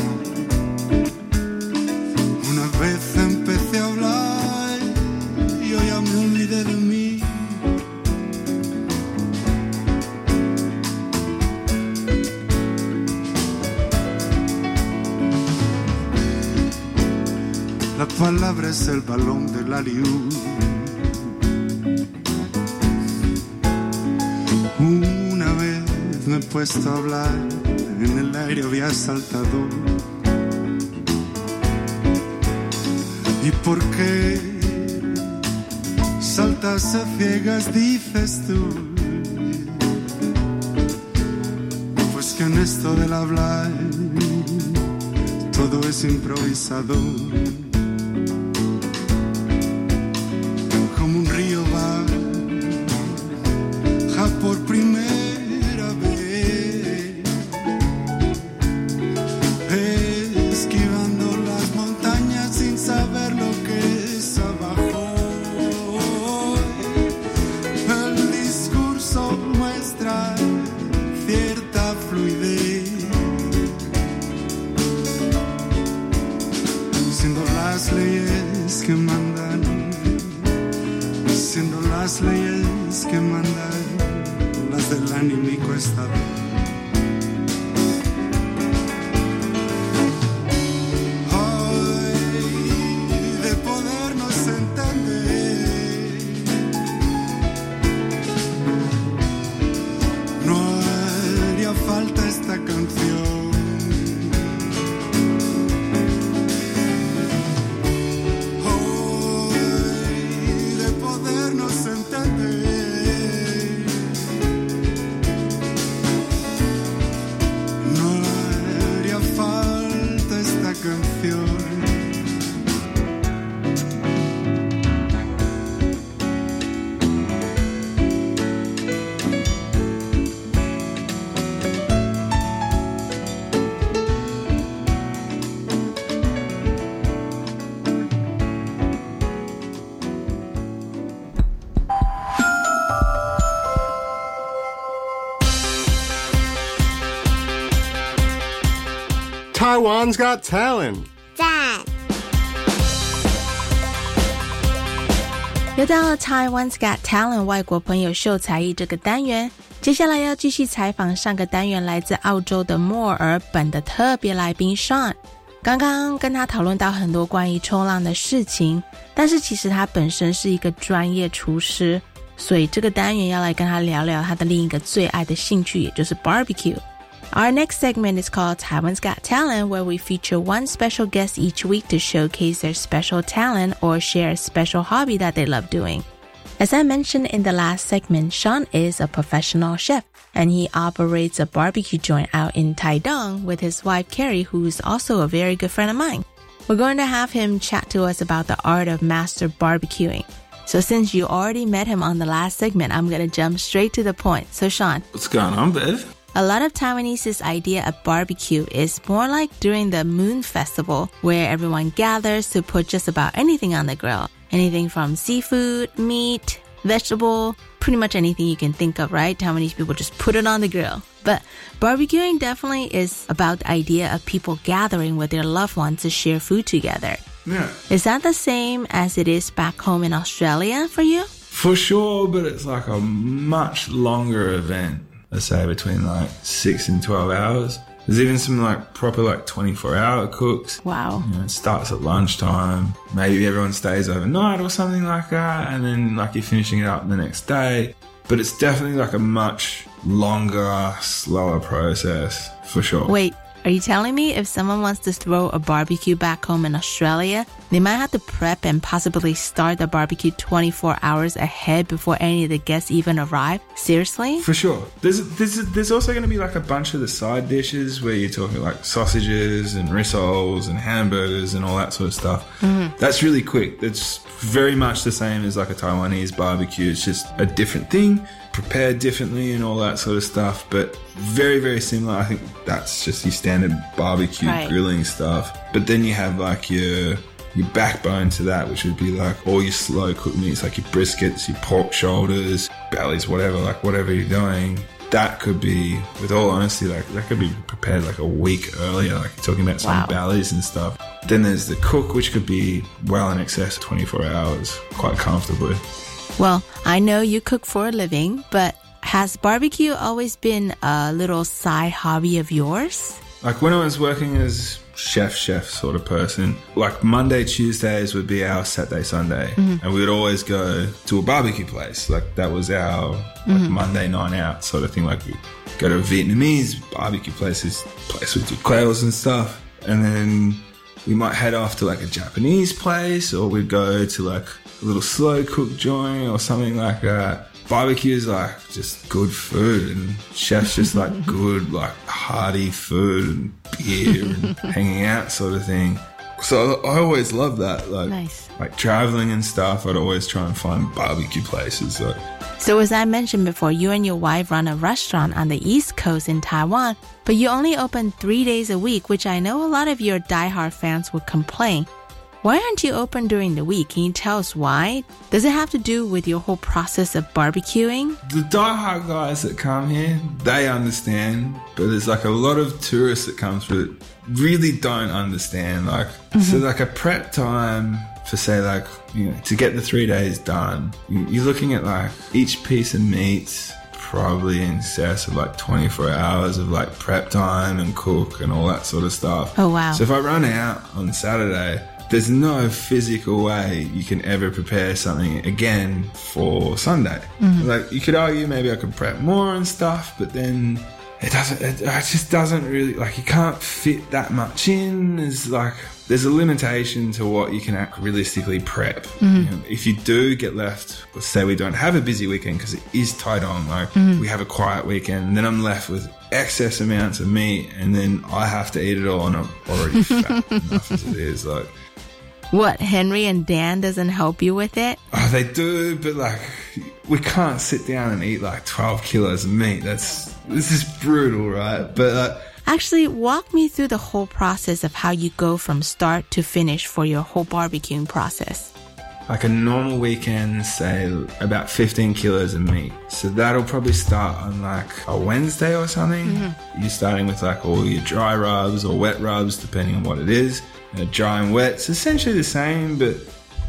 una vez empecé a hablar y yo ya me olvidé de mí. La palabra es el balón del alley-oop. Una vez me he puesto a hablar aire había saltado. ¿Y por qué saltas a ciegas, dices tú? Pues que en esto del hablar todo es improvisado. Como un río baja por primera vez, esquivando las montañas sin saber lo que es abajo. El discurso muestra cierta fluidez, siendo las leyes que mandan, siendo las leyes que mandan, las del anímico estado.
Taiwan's Got Talent.
赞。
又到了 Taiwan's Got Talent 外国朋友秀才艺这个单元，接下来要继续采访上个单元来自澳洲的墨尔本的特别来宾 Sean。刚刚跟他讨论到很多关于冲浪的事情，但是其实他本身是一个专业厨师，所以这个单元要来跟他聊聊他的另一个最爱的兴趣，也就是 barbecue。Our next segment is called Taiwan's Got Talent, where we feature one special guest each week to showcase their special talent or share a special hobby that they love doing. As I mentioned in the last segment, Sean is a professional chef, and he operates a barbecue joint out in Taidong with his wife Carrie, who is also a very good friend of mine. We're going to have him chat to us about the art of master barbecuing. So since you already met him on the last segment, I'm going to jump straight to the point. So Sean.
What's going on, Bev?
A lot of Taiwanese's idea of barbecue is more like during the Moon Festival, where everyone gathers to put just about anything on the grill. Anything from seafood, meat, vegetable, pretty much anything you can think of, right? Taiwanese people just put it on the grill. But barbecuing definitely is about the idea of people gathering with their loved ones to share food together.
Yeah.
Is that the same as it is back home in Australia for you?
For sure, but it's like a much longer event. Let's say between like six and twelve hours. There's even some like proper like twenty-four hour cooks.
Wow.
You know, it starts at lunchtime. Maybe everyone stays overnight or something like that. And then like you're finishing it up the next day. But it's definitely like a much longer, slower process for sure.
Wait, are you telling me if someone wants to throw a barbecue back home in Australia, they might have to prep and possibly start the barbecue twenty-four hours ahead before any of the guests even arrive? Seriously?
For sure. There's there's there's also going to be like a bunch of the side dishes where you're talking like sausages and rissoles and hamburgers and all that sort of stuff.
Mm-hmm.
That's really quick. It's very much the same as like a Taiwanese barbecue. It's just a different thing, prepared differently and all that sort of stuff, but very, very similar. I think that's just your standard barbecue
right.
grilling stuff. But then you have like your your backbone to that, which would be like all your slow cooked meats, like your briskets, your pork shoulders, bellies, whatever, like whatever you're doing. That could be, with all honesty, like that could be prepared like a week earlier, like you're talking about some
wow.
bellies and stuff. Then there's the cook, which could be well in excess of twenty-four hours, quite comfortably.
Well, I know you cook for a living, but has barbecue always been a little side hobby of yours?
Like when I was working as chef, chef sort of person, like Monday, Tuesdays would be our Saturday, Sunday. Mm-hmm. And we would always go to a barbecue place. Like that was our mm-hmm. like Monday night out sort of thing. Like we go to a Vietnamese barbecue place, this place with quails and stuff. And then we might head off to like a Japanese place, or we'd go to like a little slow cook joint or something like that. Barbecue is like just good food, and chefs just like good, like hearty food and beer and hanging out sort of thing. So I always loved that. Like,
nice.
Like traveling and stuff, I'd always try and find barbecue places. Like.
So as I mentioned before, you and your wife run a restaurant on the East Coast in Taiwan, but you only open three days a week, which I know a lot of your diehard fans would complain. Why aren't you open during the week? Can you tell us why? Does it have to do with your whole process of barbecuing?
The diehard guys that come here, they understand, but there's like a lot of tourists that come through that really don't understand. Like, mm-hmm. so like a prep time for say like, you know, to get the three days done, you're looking at like each piece of meat probably in excess of like twenty-four hours of like prep time and cook and all that sort of stuff.
Oh, wow.
So if I run out on Saturday, there's no physical way you can ever prepare something again for Sunday. Mm-hmm. Like you could argue maybe I could prep more and stuff, but then it doesn't, it, it just doesn't really, like you can't fit that much in. There's like, there's a limitation to what you can act realistically prep. Mm-hmm. You know, if you do get left, let's say we don't have a busy weekend because it is tight on, like mm-hmm. we have a quiet weekend, and then I'm left with excess amounts of meat, and then I have to eat it all, and I'm already fat enough as it is. Like,
what, Henry and Dan doesn't help you with it?
Oh, they do, but like, we can't sit down and eat like twelve kilos of meat. That's, this is brutal, right? But uh,
actually, walk me through the whole process of how you go from start to finish for your whole barbecuing process.
Like a normal weekend, say about fifteen kilos of meat. So that'll probably start on like a Wednesday or something. Mm-hmm. You're starting with like all your dry rubs or wet rubs, depending on what it is. Uh, dry and wet, it's essentially the same, but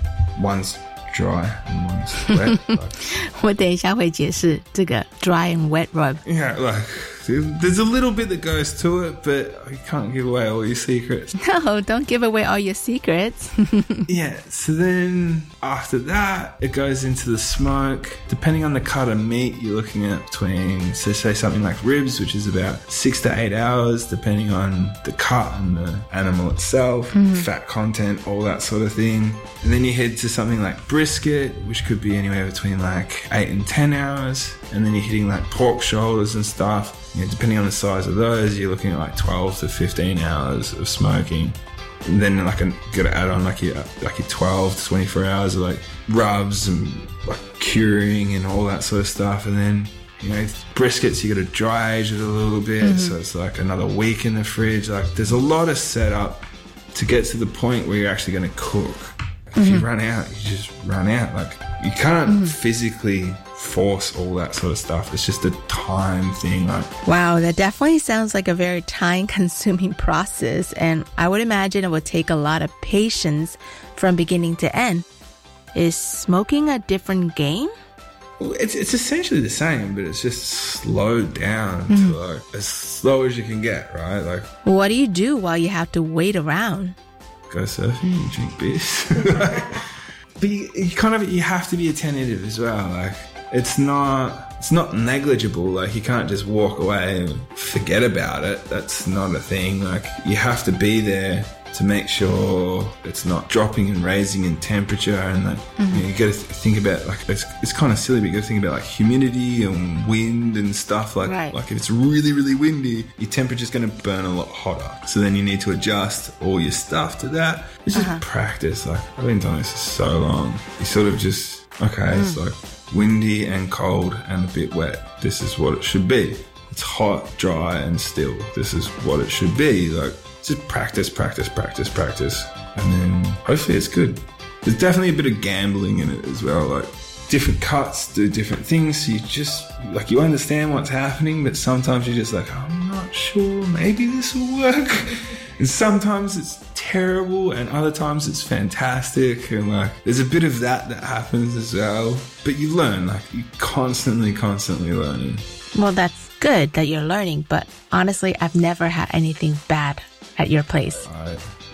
one's dry and one's wet. Like,
我等一下会解释这个 dry and wet rub.
Yeah, like there's a little bit that goes to it, but you can't give away all your secrets.
No, don't give away all your secrets.
Yeah, so then after that, it goes into the smoke. Depending on the cut of meat, you're looking at between, so say something like ribs, which is about six to eight hours, depending on the cut and the animal itself, mm-hmm. fat content, all that sort of thing. And then you head to something like brisket, which could be anywhere between like eight and ten hours. And then you're hitting like pork shoulders and stuff. You know, depending on the size of those, you're looking at like twelve to fifteen hours of smoking. And then like you got to add on like your like your twelve to twenty-four hours of like rubs and like curing and all that sort of stuff. And then, you know, briskets, you got to dry age it a little bit. Mm-hmm. So it's like another week in the fridge. Like there's a lot of setup to get to the point where you're actually going to cook. If mm-hmm. you run out, you just run out. Like you can't mm-hmm. physically force all that sort of stuff. It's just a time thing. Like,
wow, that definitely sounds like a very time-consuming process, and I would imagine it would take a lot of patience from beginning to end. Is smoking a different game?
It's it's essentially the same, but it's just slowed down mm-hmm. to like as slow as you can get, right? Like,
what do you do while you have to wait around?
Go surfing and drink beers. Like, but you, you kind of you have to be attentive as well. Like, it's not it's not negligible. Like, you can't just walk away and forget about it. That's not a thing. Like, you have to be there to make sure it's not dropping and raising in temperature, and like mm-hmm. you know, you got to th- think about like it's, it's kind of silly, but you got to think about like humidity and wind and stuff. Like
right.
like if it's really really windy, your temperature's going to burn a lot hotter. So then you need to adjust all your stuff to that. It's just uh-huh. practice. Like, I've been doing this for so long. You sort of just okay, mm. it's like windy and cold and a bit wet. This is what it should be. It's hot, dry, and still. This is what it should be. Like, just practice, practice, practice, practice, and then hopefully it's good. There's definitely a bit of gambling in it as well. Like, different cuts do different things. So you just, like, you understand what's happening, but sometimes you're just like, I'm not sure, maybe this will work. And sometimes it's terrible, and other times it's fantastic. And like, there's a bit of that that happens as well. But you learn, like, you constantly, constantly learning.
Well, that's good that you're learning, but honestly, I've never had anything bad at your place.
Right.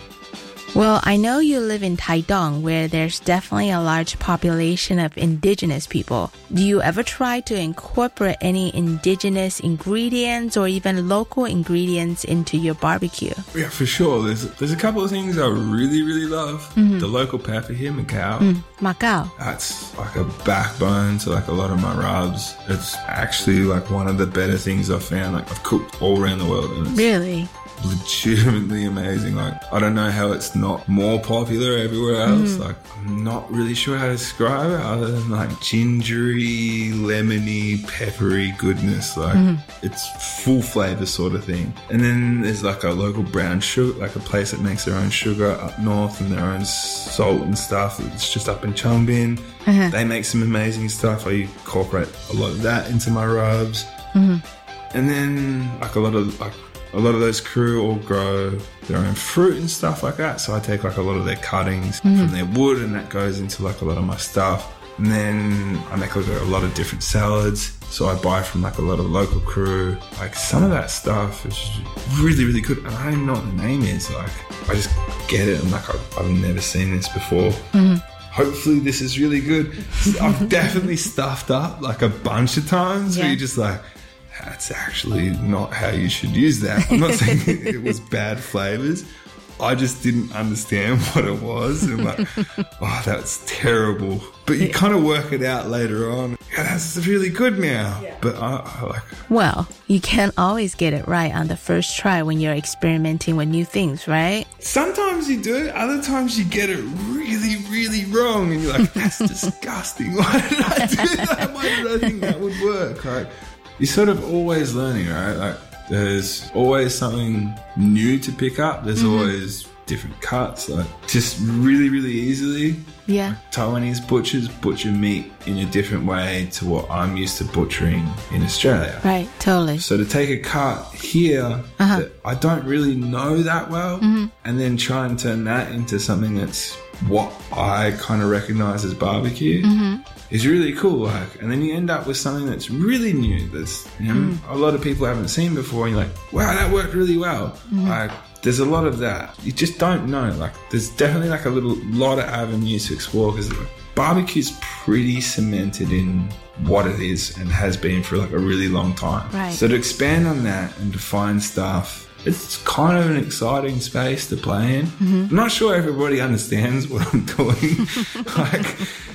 Well, I know you live in Taidong, where there's definitely a large population of indigenous people. Do you ever try to incorporate any indigenous ingredients or even local ingredients into your barbecue?
Yeah, for sure. There's there's a couple of things I really, really love.
Mm-hmm.
The local pepper here, Macau.
Mm, Macau.
That's like a backbone to like a lot of my rubs. It's actually like one of the better things I've found. Like I've cooked all around the world. And it's
really?
legitimately amazing. Like I don't know how it's not more popular everywhere else. Mm. Like I'm not really sure how to describe it other than like gingery, lemony, peppery goodness. Like mm. it's full flavor sort of thing. And then there's like a local brown sugar, like a place that makes their own sugar up north and their own salt and stuff. It's just up in Chongbin. Uh-huh. They make some amazing stuff. I incorporate a lot of that into my rubs. Mm-hmm. And then like a lot of like A lot of those crew all grow their own fruit and stuff like that. So I take like a lot of their cuttings mm-hmm. from their wood and that goes into like a lot of my stuff. And then I make like a lot of different salads. So I buy from like a lot of local crew. Like some of that stuff is really, really good. And I don't even know what the name is. Like I just get it. I'm like, I've, I've never seen this before. Mm-hmm. Hopefully this is really good. I've definitely stuffed up like a bunch of times yeah. where you're just like, that's actually not how you should use that. I'm not saying it was bad flavors. I just didn't understand what it was. And like, oh, that's terrible. But you kind of work it out later on. Yeah, that's really good now. Yeah. But I, I like.
Well, you can't always get it right on the first try when you're experimenting with new things, right?
Sometimes you do. Other times you get it really, really wrong. And you're like, that's disgusting. Why did I do that? Why did I think that would work? Like, you're sort of always learning, right? Like, there's always something new to pick up. There's mm-hmm. always different cuts. Like, just really, really easily.
Yeah.
Like, Taiwanese butchers butcher meat in a different way to what I'm used to butchering in Australia.
Right, totally.
So to take a cut here uh-huh. that I don't really know that well mm-hmm. and then try and turn that into something that's what I kind of recognize as barbecue. Mm-hmm. is really cool, like, and then you end up with something that's really new. That's you know mm. a lot of people haven't seen before, and you're like, wow, that worked really well. Mm. Like, there's a lot of that. You just don't know. Like, there's definitely like a little lot of avenues to explore because like, barbecue's pretty cemented in what it is and has been for like a really long time.
Right.
So to expand on that and to find stuff, it's kind of an exciting space to play in. Mm-hmm. I'm not sure everybody understands what I'm doing. like.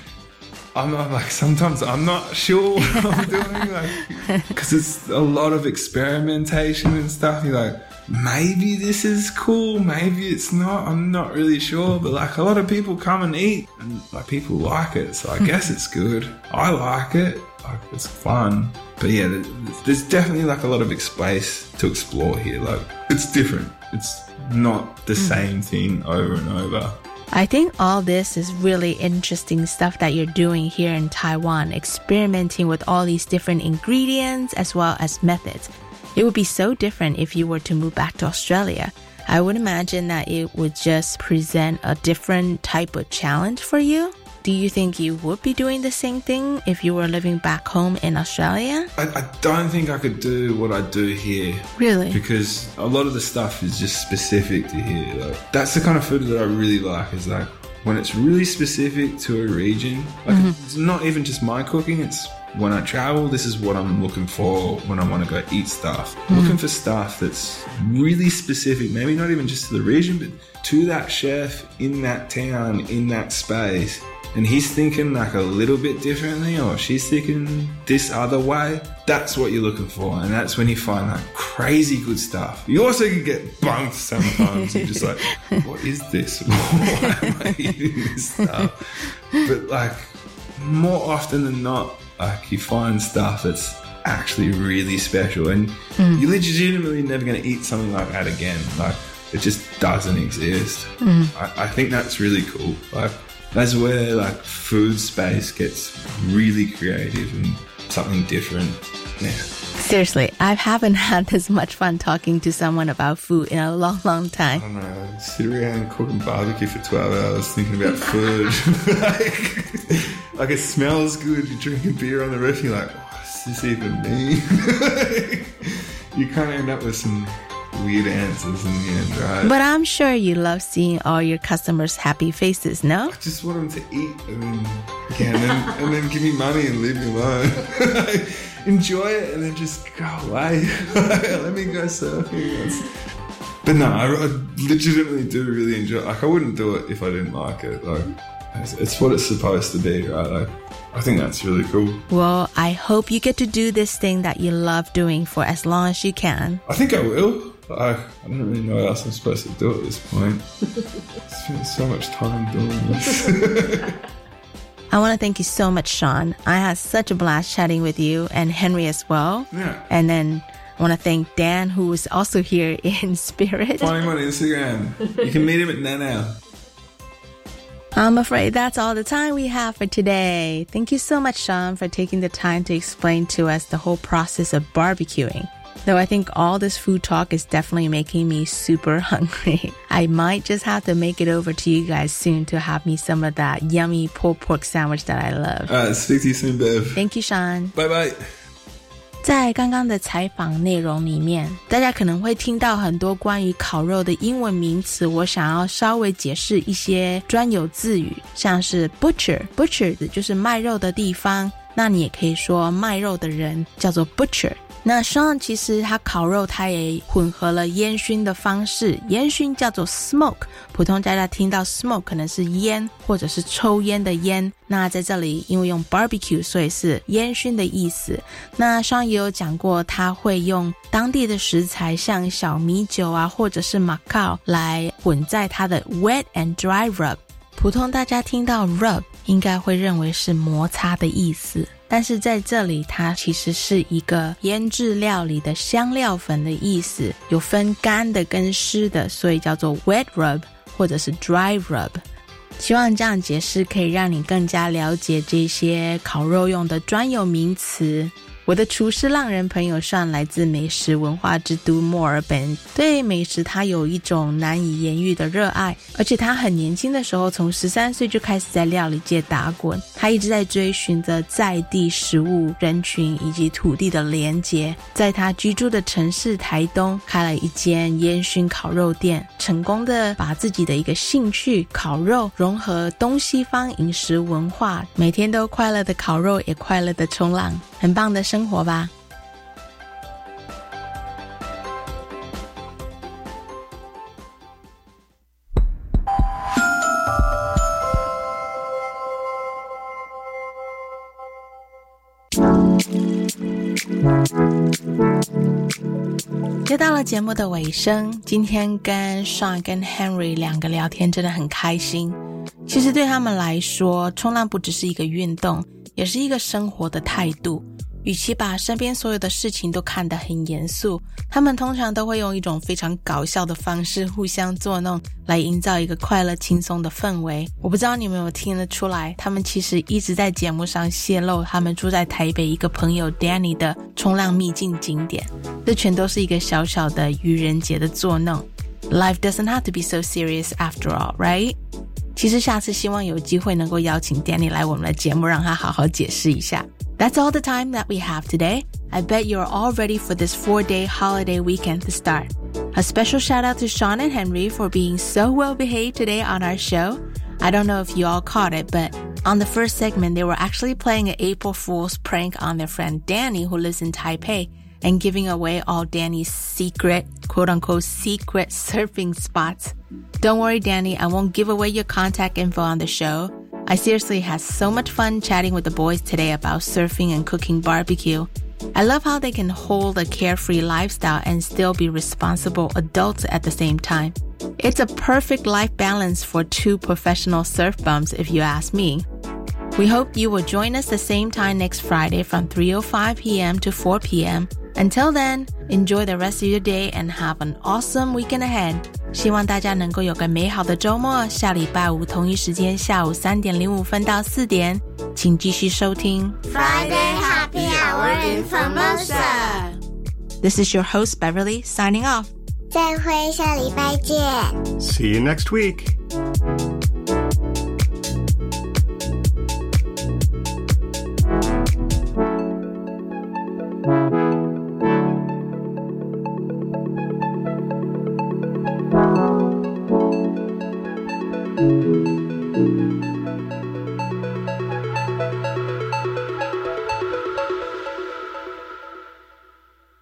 I'm, I'm like, sometimes I'm not sure what I'm doing, like, because it's a lot of experimentation and stuff. You're like, maybe this is cool, maybe it's not. I'm not really sure, but like a lot of people come and eat, and like people like it, so I guess it's good. I like it, like it's fun. But yeah, there's definitely like a lot of space to explore here. Like, it's different. It's not the same thing over and over.
I think all this is really interesting stuff that you're doing here in Taiwan, experimenting with all these different ingredients as well as methods. It would be so different if you were to move back to Australia. I would imagine that it would just present a different type of challenge for you. Do you think you would be doing the same thing if you were living back home in Australia?
I, I don't think I could do what I do here.
Really?
Because a lot of the stuff is just specific to here. Like, that's the kind of food that I really like, is like when it's really specific to a region. Like mm-hmm. It's not even just my cooking, it's when I travel, this is what I'm looking for when I want to go eat stuff. Mm-hmm. Looking for stuff that's really specific, maybe not even just to the region, but to that chef in that town, in that space. And he's thinking like a little bit differently, or she's thinking this other way. That's what you're looking for, and that's when you find like crazy good stuff. You also can get bunked sometimes. You're just like, what is this? Why am I eating this stuff? But like more often than not, like you find stuff that's actually really special, and mm. you're legitimately never going to eat something like that again. Like, it just doesn't exist. Mm. I, I think that's really cool. Like, that's where like food space gets really creative and something different. Yeah.
Seriously, I haven't had this much fun talking to someone about food in a long, long time.
I don't know. Sit around cooking barbecue for twelve hours thinking about food. like, like it smells good. You're drinking beer on the roof. You're like, oh, what's this even mean? You kind of end up with some weird answers in the end, right?
But I'm sure you love seeing all your customers' happy faces, no?
I just want them to eat and then, yeah, and then, and then give me money and leave me alone. Enjoy it and then just go away. Let me go surfing. That's... But no, I, I legitimately do really enjoy it. Like, I wouldn't do it if I didn't like it. Like, it's, it's what it's supposed to be, right? Like, I think that's really cool.
Well, I hope you get to do this thing that you love doing for as long as you can.
I think I will. I, I don't really know what else I'm supposed to do at this point. Spent so much time doing this.
I want to thank you so much, Sean. I had such a blast chatting with you and Henry as well.
Yeah.
And then I want to thank Dan, who was also here in spirit.
Find him on Instagram. You can meet him at Nanau.
I'm afraid that's all the time we have for today. Thank you so much, Sean, for taking the time to explain to us the whole process of barbecuing. Though I think all this food talk is definitely making me super hungry. I might just have to make it over to you guys soon to have me some of that yummy pulled pork sandwich that I love.
All right, speak to you soon, Bev.
Thank you, Sean.
Bye-bye.
在刚刚的采访内容里面，大家可能会听到很多关于烤肉的英文名词，我想要稍微解释一些专有字语，像是 butcher butcher 就是卖肉的地方，那你也可以说卖肉的人叫做 butcher。那 Sean 其实他烤肉他也混合了烟熏的方式，烟熏叫做 smoke， 普通大家听到 smoke 可能是烟或者是抽烟的烟，那在这里因为用 barbecue 所以是烟熏的意思。那 Sean 也有讲过他会用当地的食材像小米酒啊或者是马告来混在他的 wet and dry rub， 普通大家听到 rub 应该会认为是摩擦的意思，但是在这里它其实是一个腌制料理的香料粉的意思，有分干的跟湿的，所以叫做 wet rub 或者是 dry rub。 希望这样解释可以让你更加了解这些烤肉用的专有名词。我的厨师浪人朋友上来自美食文化之都墨尔本，对美食他有一种难以言喻的热爱，而且他很年轻的时候从十三岁就开始在料理界打滚，他一直在追寻着在地食物、人群以及土地的连结。在他居住的城市台东开了一间烟熏烤肉店，成功的把自己的一个兴趣烤肉融合东西方饮食文化，每天都快乐的烤肉也快乐的冲浪，很棒的生活吧。又到了节目的尾声，今天跟 Sean 跟 Henry 两个聊天真的很开心。其实对他们来说，冲浪不只是一个运动，也是一个生活的态度。与其把身边所有的事情都看得很严肃，他们通常都会用一种非常搞笑的方式互相作弄，来营造一个快乐轻松的氛围。我不知道你们有没有听得出来，他们其实一直在节目上泄露他们住在台北一个朋友 Danny 的冲浪秘境景点，这全都是一个小小的愚人节的作弄。 Life doesn't have to be so serious after all, right? 其实下次希望有机会能够邀请 Danny 来我们的节目，让他好好解释一下。That's all the time that we have today. I bet you're all ready for this four-day holiday weekend to start. A special shout out to Sean and Henry for being so well behaved today on our show. I don't know if you all caught it, but on the first segment, they were actually playing an April Fool's prank on their friend Danny, who lives in Taipei, and giving away all Danny's secret, quote-unquote, secret surfing spots. Don't worry, Danny, I won't give away your contact info on the show. I seriously had so much fun chatting with the boys today about surfing and cooking barbecue. I love how they can hold a carefree lifestyle and still be responsible adults at the same time. It's a perfect life balance for two professional surf bums, if you ask me. We hope you will join us the same time next Friday from three oh five p.m. to four p.m. Until then, enjoy the rest of your day and have an awesome weekend ahead. 希望大家能够有个美好的周末，下礼拜五同一时间下午三点零五分到四点，请继续收听
Friday Happy Hour in Formosa.
This is your host Beverly signing off.
再会，下礼拜见。
See you next week.